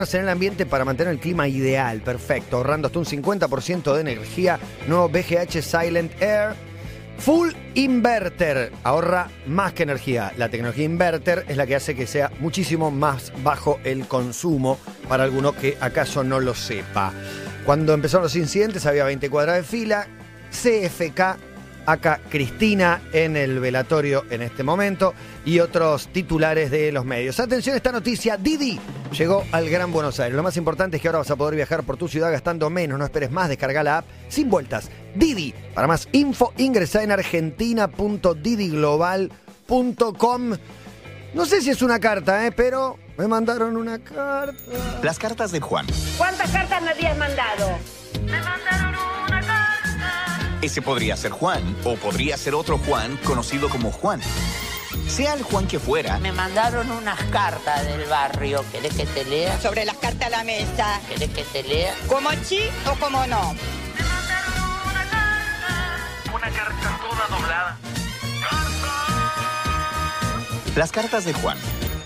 en el ambiente para mantener el clima ideal, perfecto, ahorrando hasta un 50% de energía. Nuevo BGH Silent Air Full Inverter, ahorra más que energía. La tecnología inverter es la que hace que sea muchísimo más bajo el consumo, para alguno que acaso no lo sepa. Cuando empezaron los incidentes había 20 cuadras de fila. CFK, acá Cristina en el velatorio en este momento, y otros titulares de los medios. Atención a esta noticia: Didi llegó al Gran Buenos Aires. Lo más importante es que ahora vas a poder viajar por tu ciudad gastando menos. No esperes más, descarga la app sin vueltas. Didi. Para más info, ingresa en argentina.didiglobal.com. No sé si es una carta, pero me mandaron una carta. Las cartas de Juan. ¿Cuántas cartas me habías mandado? Me mandaron una carta. Ese podría ser Juan, o podría ser otro Juan conocido como Juan. Sea el Juan que fuera. Me mandaron unas cartas del barrio. ¿Querés que te lea? Sobre las cartas a la mesa. ¿Querés que te lea? ¿Como sí o como no? Me mandaron una carta. Una carta toda doblada. Las cartas de Juan.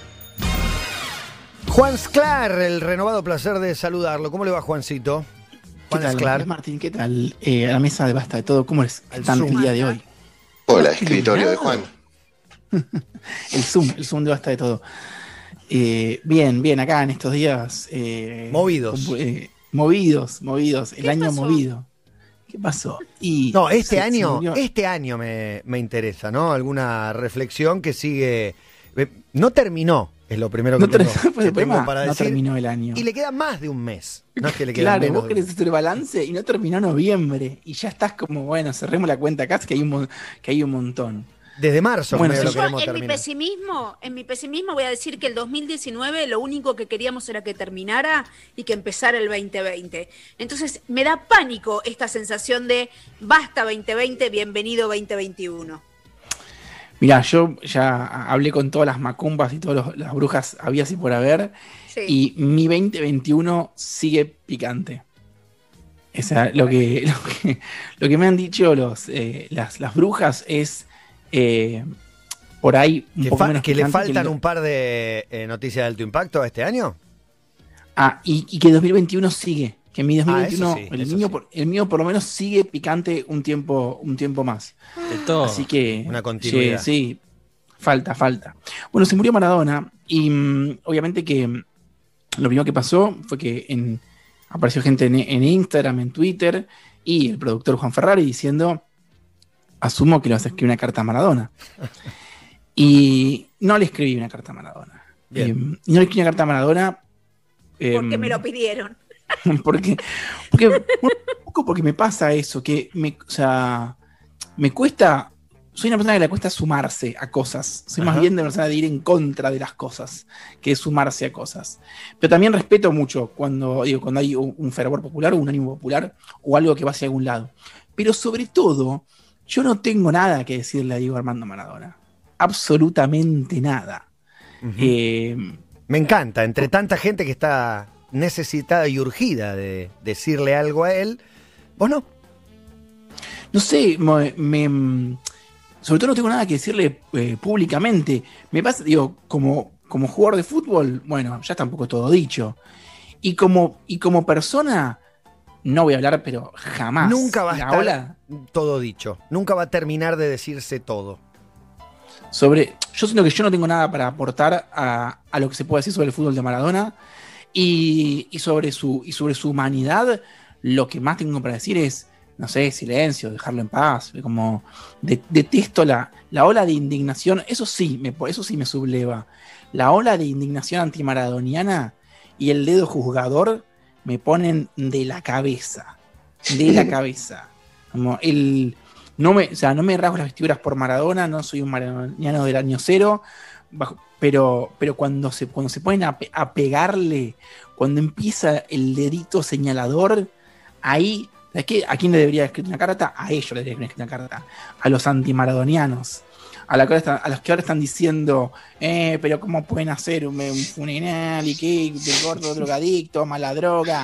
Juan Sclar, el renovado placer de saludarlo. ¿Cómo le va, Juancito? ¿Qué tal, Sclar. Martín? ¿Qué tal? A la mesa de Basta de Todo, ¿cómo están el día de hoy? Hola, escritorio de Juan. El Zoom de Basta de Todo. Bien, acá en estos días. Movidos. Movidos, el año pasó? movido. ¿Qué pasó? No, este año murió. me interesa, ¿no? Alguna reflexión que sigue. No terminó, es lo primero que tengo para no decir. Terminó el año. Y le queda más de un mes. No es que le queda Claro, menos. vos querés hacer balance y no terminó noviembre. Y ya estás como, bueno, cerremos la cuenta acá, que hay un montón. Desde marzo, Bueno, medio sí. lo queremos En mi terminar. pesimismo voy a decir que el 2019 lo único que queríamos era que terminara y que empezara el 2020. Entonces me da pánico esta sensación de basta 2020, bienvenido 2021. Mirá, yo ya hablé con todas las macumbas y todas las brujas habidas y por haber, Sí. y mi 2021 sigue picante. O sea, lo que me han dicho las brujas es por ahí un poco menos Que le picante faltan un par de noticias de alto impacto a este año. Y que 2021 sigue. Que mi 2021, eso sí, el mío por lo menos sigue picante un tiempo más. De todo. Así que Una continuidad. Sí, falta. Bueno, se murió Maradona y obviamente que lo primero que pasó fue que apareció gente en Instagram, en Twitter, y el productor Juan Ferrari diciendo: asumo que le vas a escribir una carta a Maradona. Y no le escribí una carta a Maradona. Y no le escribí una carta a Maradona Porque me lo pidieron. porque me pasa eso, que me cuesta, soy una persona que le cuesta sumarse a cosas, soy más bien de persona de ir en contra de las cosas que de sumarse a cosas, pero también respeto mucho cuando hay un fervor popular o un ánimo popular o algo que va hacia algún lado, pero sobre todo yo no tengo nada que decirle a Diego Armando Maradona, absolutamente nada. Me encanta, entre tanta gente que está necesitada y urgida de decirle algo a él, vos no. No sé, sobre todo no tengo nada que decirle públicamente. Me pasa, como jugador de fútbol, bueno, ya está un poco todo dicho. Y como persona, no voy a hablar, pero jamás. Nunca va a estar todo dicho. Nunca va a terminar de decirse todo. Yo siento que yo no tengo nada para aportar a lo que se puede decir sobre el fútbol de Maradona. Y sobre su humanidad, lo que más tengo para decir es, no sé, silencio, dejarlo en paz. Como detesto la ola de indignación. Eso sí me subleva. La ola de indignación antimaradoniana y el dedo juzgador me ponen de la cabeza. De la cabeza. Como no me rasgo las vestiduras por Maradona, no soy un maradoniano del año cero. Pero cuando se ponen a pegarle, cuando empieza el dedito señalador, ahí, ¿a quién le debería escribir una carta? A ellos le debería escribir una carta, a los antimaradonianos, a los que ahora están diciendo, pero ¿cómo pueden hacer un funeral y qué? El gordo drogadicto, mala droga.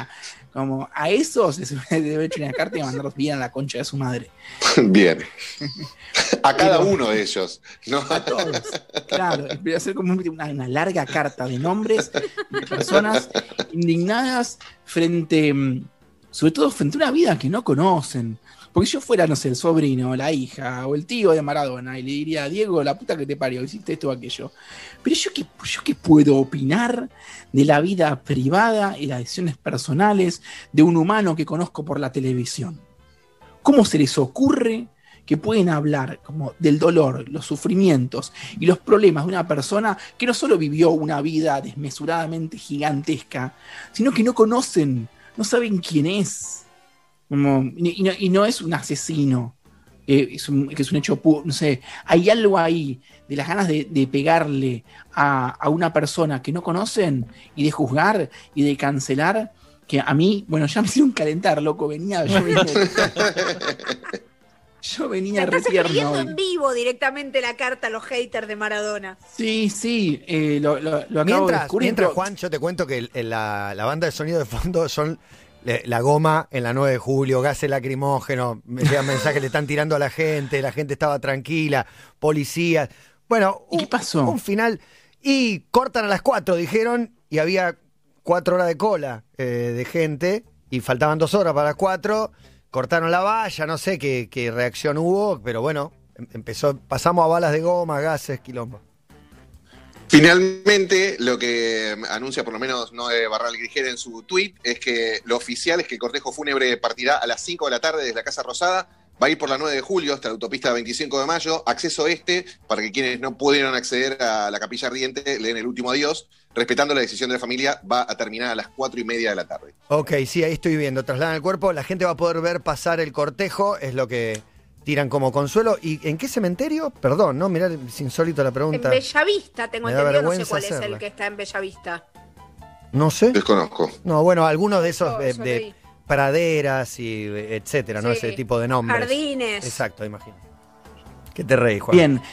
Como a esos les debe echar una carta y mandarlos bien a la concha de su madre. Bien. A cada uno de ellos, ¿no? A todos. Claro, voy a hacer como una larga carta de nombres de personas indignadas sobre todo frente a una vida que no conocen. Porque si yo fuera, no sé, el sobrino, la hija o el tío de Maradona y le diría, Diego, la puta que te parió, hiciste esto o aquello. Pero yo qué puedo opinar de la vida privada y las decisiones personales de un humano que conozco por la televisión. ¿Cómo se les ocurre que pueden hablar como del dolor, los sufrimientos y los problemas de una persona que no solo vivió una vida desmesuradamente gigantesca, sino que no conocen, no saben quién es? Y no es un asesino, que es un hecho puro, no sé, hay algo ahí de las ganas de pegarle a una persona que no conocen y de juzgar y de cancelar, que a mí, bueno, ya me hicieron calentar, loco, yo venía re Estás tierno escribiendo hoy. en vivo directamente la carta a los haters de Maradona. Sí, lo acabo de descubrir. Mientras, Juan, yo te cuento que la banda de sonido de fondo son la goma en la 9 de julio, gases lacrimógenos, me llegan mensajes, le están tirando a la gente estaba tranquila, policías. Bueno, ¿Y qué pasó? Un final. Y cortan a las 4, dijeron, y había 4 horas de cola de gente, y faltaban 2 horas para las 4. Cortaron la valla, no sé qué reacción hubo, pero bueno, pasamos a balas de goma, gases, quilombo. Finalmente, lo que anuncia por lo menos Noé Barral Grigera en su tuit es que lo oficial es que el cortejo fúnebre partirá a las 5 de la tarde desde la Casa Rosada, va a ir por la 9 de julio hasta la autopista 25 de mayo, acceso para que quienes no pudieron acceder a la Capilla Ardiente le den el último adiós, respetando la decisión de la familia, va a terminar a las 4:30 de la tarde. Ok, sí, ahí estoy viendo, trasladan el cuerpo, la gente va a poder ver pasar el cortejo, es lo que tiran como consuelo. ¿Y en qué cementerio? Perdón, ¿no? Mirá, es insólito la pregunta. En Bellavista, tengo Me da entendido, no sé vergüenza cuál es hacerla. el que está en Bellavista. No sé. Desconozco. No, bueno, algunos de esos Yo de leí. praderas y etcétera, ¿no? Sí. Ese tipo de nombres. Jardines. Exacto, imagino. ¿Qué te reís, Juan? Bien.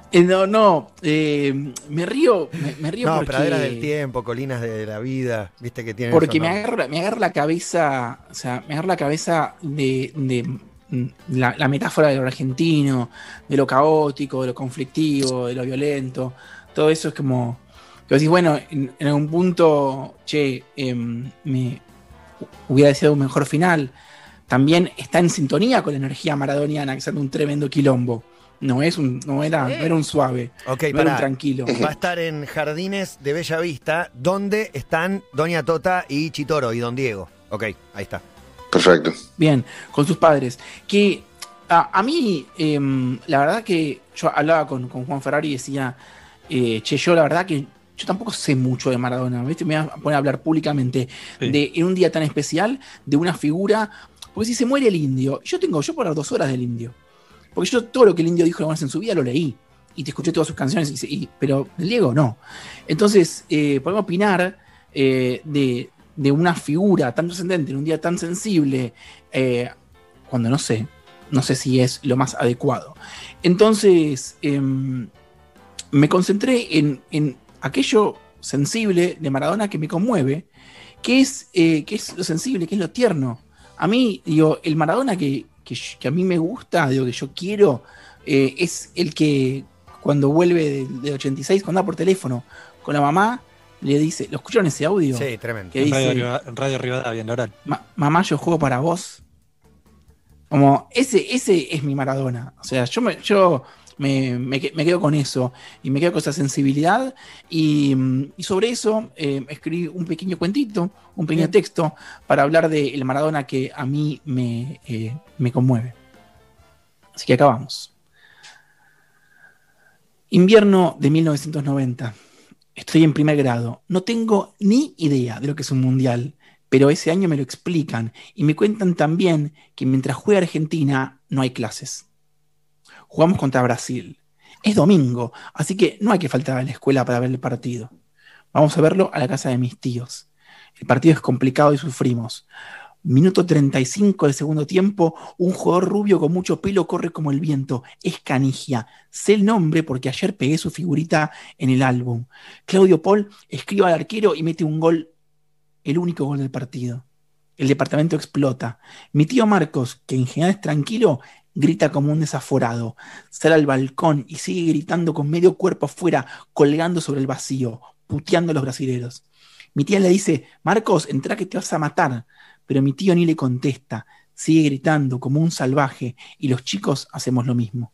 Me río No, porque... praderas del tiempo, colinas de la vida, viste que tienen Porque esos me nombres. agarro la cabeza, o sea, me agarro la cabeza de la metáfora de lo argentino, de lo caótico, de lo conflictivo, de lo violento. Todo eso es como que decís, bueno, en algún punto, me hubiera deseado un mejor final. También está en sintonía con la energía maradoniana, que es un tremendo quilombo. No era un suave, Ok, no era pará. un tranquilo. Va a estar en Jardines de Bellavista, donde están Doña Tota y Chitoro y Don Diego. Ok, ahí está. Perfecto. Bien, con sus padres. Que a mí, la verdad que yo hablaba con Juan Ferrari y decía, yo la verdad que yo tampoco sé mucho de Maradona, ¿viste? Me voy a poner a hablar públicamente en un día tan especial de una figura, porque si se muere el indio, yo puedo hablar 2 horas del indio, porque yo todo lo que el indio dijo en su vida lo leí, y te escuché todas sus canciones, pero del Diego no. Entonces, podemos opinar de una figura tan trascendente en un día tan sensible, cuando no sé si es lo más adecuado. Entonces, me concentré en aquello sensible de Maradona que me conmueve, que es lo sensible, que es lo tierno. A mí, digo, el Maradona que a mí me gusta, digo, que yo quiero, es el que cuando vuelve del 86, cuando anda por teléfono con la mamá, le dice, ¿lo escucharon ese audio? Sí, tremendo. Que dice, En Radio Rivadavia, en Oral. mamá, yo juego para vos. Como, ese es mi Maradona. O sea, yo me quedo con eso. Y me quedo con esa sensibilidad. Y sobre eso escribí un pequeño cuentito, un pequeño texto, para hablar del Maradona que a mí me conmueve. Así que acá vamos. Invierno de 1990. Estoy en primer grado. No tengo ni idea de lo que es un mundial, pero ese año me lo explican y me cuentan también que mientras juega Argentina no hay clases. Jugamos contra Brasil. Es domingo, así que no hay que faltar a la escuela para ver el partido. Vamos a verlo a la casa de mis tíos. El partido es complicado y sufrimos. Minuto 35 del segundo tiempo, un jugador rubio con mucho pelo corre como el viento. Es Canigia. Sé el nombre porque ayer pegué su figurita en el álbum. Claudio Paul escribe al arquero y mete un gol, el único gol del partido. El departamento explota. Mi tío Marcos, que en general es tranquilo, grita como un desaforado. Sale al balcón y sigue gritando con medio cuerpo afuera, colgando sobre el vacío, puteando a los brasileros. Mi tía le dice: Marcos, entra que te vas a matar. Pero mi tío ni le contesta. Sigue gritando como un salvaje y los chicos hacemos lo mismo.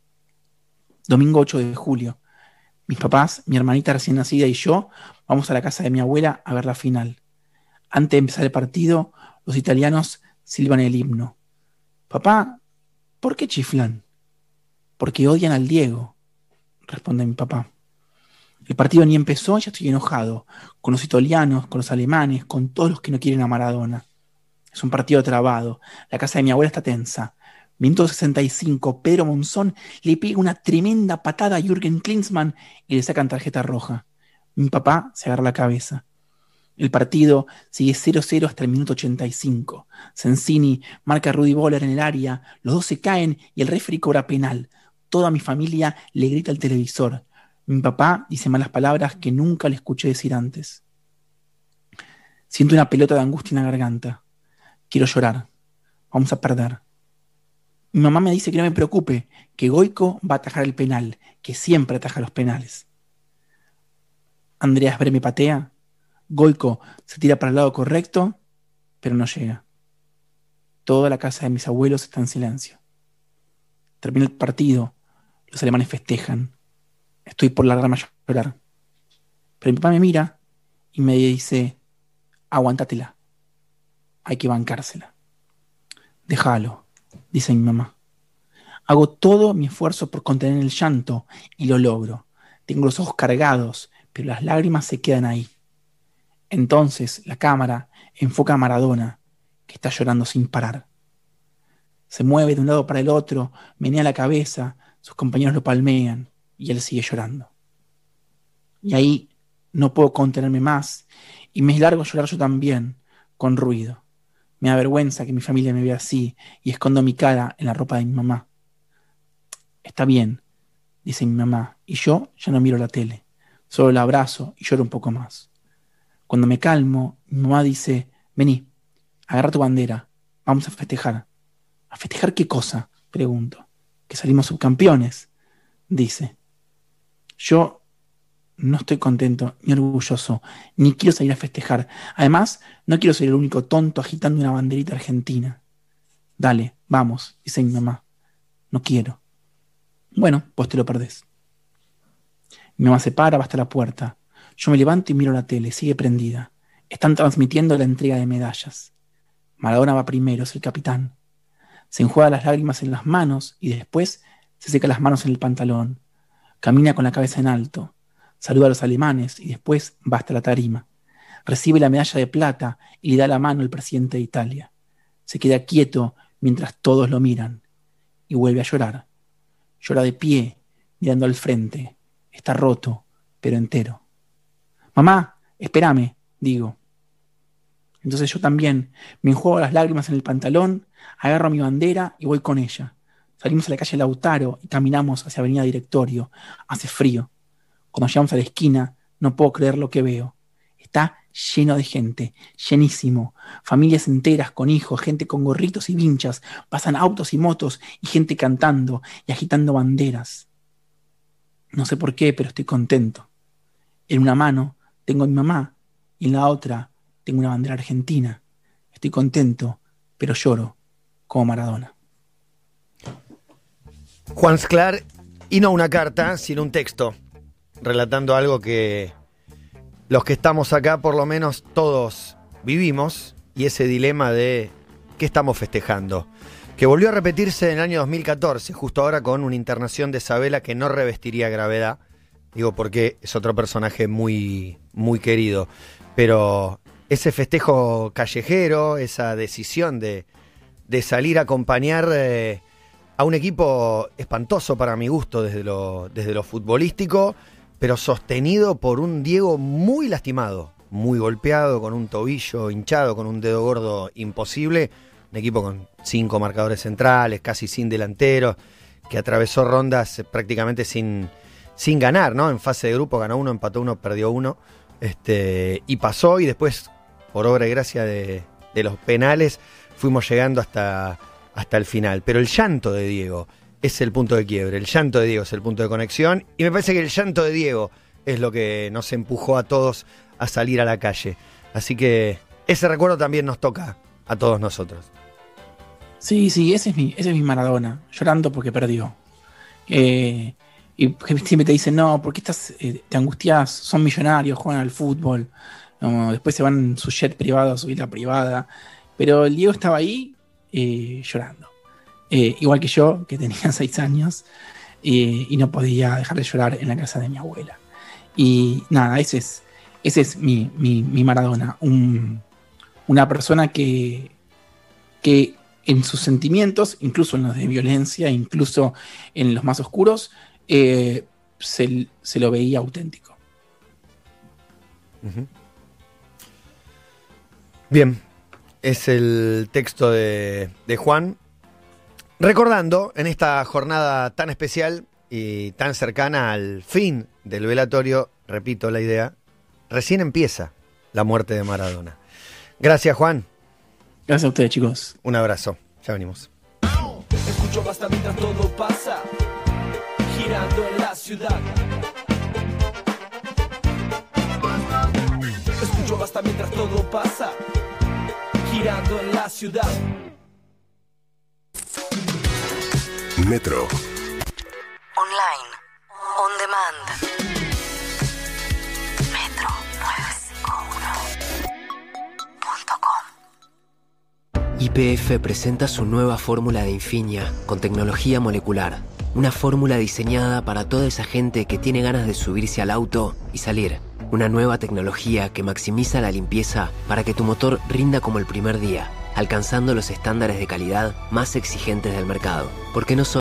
Domingo 8 de julio. Mis papás, mi hermanita recién nacida y yo vamos a la casa de mi abuela a ver la final. Antes de empezar el partido, los italianos silban el himno. Papá, ¿por qué chiflan? Porque odian al Diego, responde mi papá. El partido ni empezó y ya estoy enojado, con los italianos, con los alemanes, con todos los que no quieren a Maradona. Es un partido trabado, la casa de mi abuela está tensa. Minuto 65, Pedro Monzón le pega una tremenda patada a Jürgen Klinsmann y le sacan tarjeta roja. Mi papá se agarra la cabeza. El partido sigue 0-0 hasta el minuto 85. Sensini marca a Rudy Boller en el área, los dos se caen y el referee cobra penal. Toda mi familia le grita al televisor. Mi papá dice malas palabras que nunca le escuché decir antes. Siento una pelota de angustia en la garganta. Quiero llorar. Vamos a perder. Mi mamá me dice que no me preocupe, que Goico va a atajar el penal, que siempre ataja los penales. Andreas Bre me patea. Goico se tira para el lado correcto, pero no llega. Toda la casa de mis abuelos está en silencio. Termina el partido, los alemanes festejan. Estoy por largarme a llorar. Pero mi papá me mira y me dice: aguantátela. Hay que bancársela. Déjalo, dice mi mamá. Hago todo mi esfuerzo por contener el llanto y lo logro. Tengo los ojos cargados, pero las lágrimas se quedan ahí. Entonces la cámara enfoca a Maradona, que está llorando sin parar. Se mueve de un lado para el otro, menea la cabeza, sus compañeros lo palmean y él sigue llorando. Y ahí no puedo contenerme más y me largo a llorar yo también, con ruido. Me da vergüenza que mi familia me vea así y escondo mi cara en la ropa de mi mamá. Está bien, dice mi mamá, y yo ya no miro la tele. Solo la abrazo y lloro un poco más. Cuando me calmo, mi mamá dice: vení, agarra tu bandera, vamos a festejar. ¿A festejar qué cosa?, pregunto. Que salimos subcampeones, dice. Yo no estoy contento, ni orgulloso, ni quiero salir a festejar. Además, no quiero ser el único tonto agitando una banderita argentina. Dale, vamos, dice mi mamá. No quiero. Bueno, pues te lo perdés. Mi mamá se para, va hasta la puerta. Yo me levanto y miro la tele, sigue prendida. Están transmitiendo la entrega de medallas. Maradona va primero, es el capitán. Se enjuaga las lágrimas en las manos y después se seca las manos en el pantalón. Camina con la cabeza en alto. Saluda a los alemanes y después va hasta la tarima. Recibe la medalla de plata y le da la mano al presidente de Italia. Se queda quieto mientras todos lo miran y vuelve a llorar. Llora de pie, mirando al frente. Está roto, pero entero. Mamá, espérame, digo. Entonces yo también me enjuago las lágrimas en el pantalón, agarro mi bandera y voy con ella. Salimos a la calle Lautaro y caminamos hacia Avenida Directorio. Hace frío. Cuando llegamos a la esquina, no puedo creer lo que veo. Está lleno de gente, llenísimo. Familias enteras con hijos, gente con gorritos y vinchas. Pasan autos y motos y gente cantando y agitando banderas. No sé por qué, pero estoy contento. En una mano tengo a mi mamá y en la otra tengo una bandera argentina. Estoy contento, pero lloro como Maradona. Juan Sclar, y no una carta, sino un texto, relatando algo que los que estamos acá, por lo menos todos vivimos, y ese dilema de qué estamos festejando, que volvió a repetirse en el año 2014, justo ahora con una internación de Sabela que no revestiría gravedad, digo porque es otro personaje muy, muy querido, pero ese festejo callejero, esa decisión de salir a acompañar a un equipo espantoso para mi gusto desde lo futbolístico, pero sostenido por un Diego muy lastimado, muy golpeado, con un tobillo hinchado, con un dedo gordo imposible, un equipo con 5 marcadores centrales, casi sin delanteros, que atravesó rondas prácticamente sin ganar, ¿no? En fase de grupo ganó 1, empató 1, perdió 1, y pasó, y después, por obra y gracia de de los penales fuimos llegando hasta el final. Pero el llanto de Diego es el punto de quiebre, el llanto de Diego es el punto de conexión, y me parece que el llanto de Diego es lo que nos empujó a todos a salir a la calle. Así que ese recuerdo también nos toca a todos nosotros. Sí, ese es mi Maradona, llorando porque perdió. Y siempre te dicen, no, ¿por qué te angustias? Son millonarios, juegan al fútbol, no, después se van en su jet privado a subir la privada. Pero el Diego estaba ahí llorando. Igual que yo, que tenía 6 años, y no podía dejar de llorar en la casa de mi abuela. Y nada, ese es mi Maradona. Una persona que en sus sentimientos, incluso en los de violencia, incluso en los más oscuros, se lo veía auténtico. Uh-huh. Bien, es el texto de Juan, recordando en esta jornada tan especial y tan cercana al fin del velatorio, repito la idea, recién empieza la muerte de Maradona. Gracias, Juan. Gracias a ustedes, chicos. Un abrazo. Ya venimos. Escucho basta mientras todo pasa, girando en la ciudad. Escucho basta mientras todo pasa, girando en la ciudad. Metro. Online. On demand. Metro951.com. YPF presenta su nueva fórmula de Infinia con tecnología molecular. Una fórmula diseñada para toda esa gente que tiene ganas de subirse al auto y salir. Una nueva tecnología que maximiza la limpieza para que tu motor rinda como el primer día, alcanzando los estándares de calidad más exigentes del mercado. Porque no solo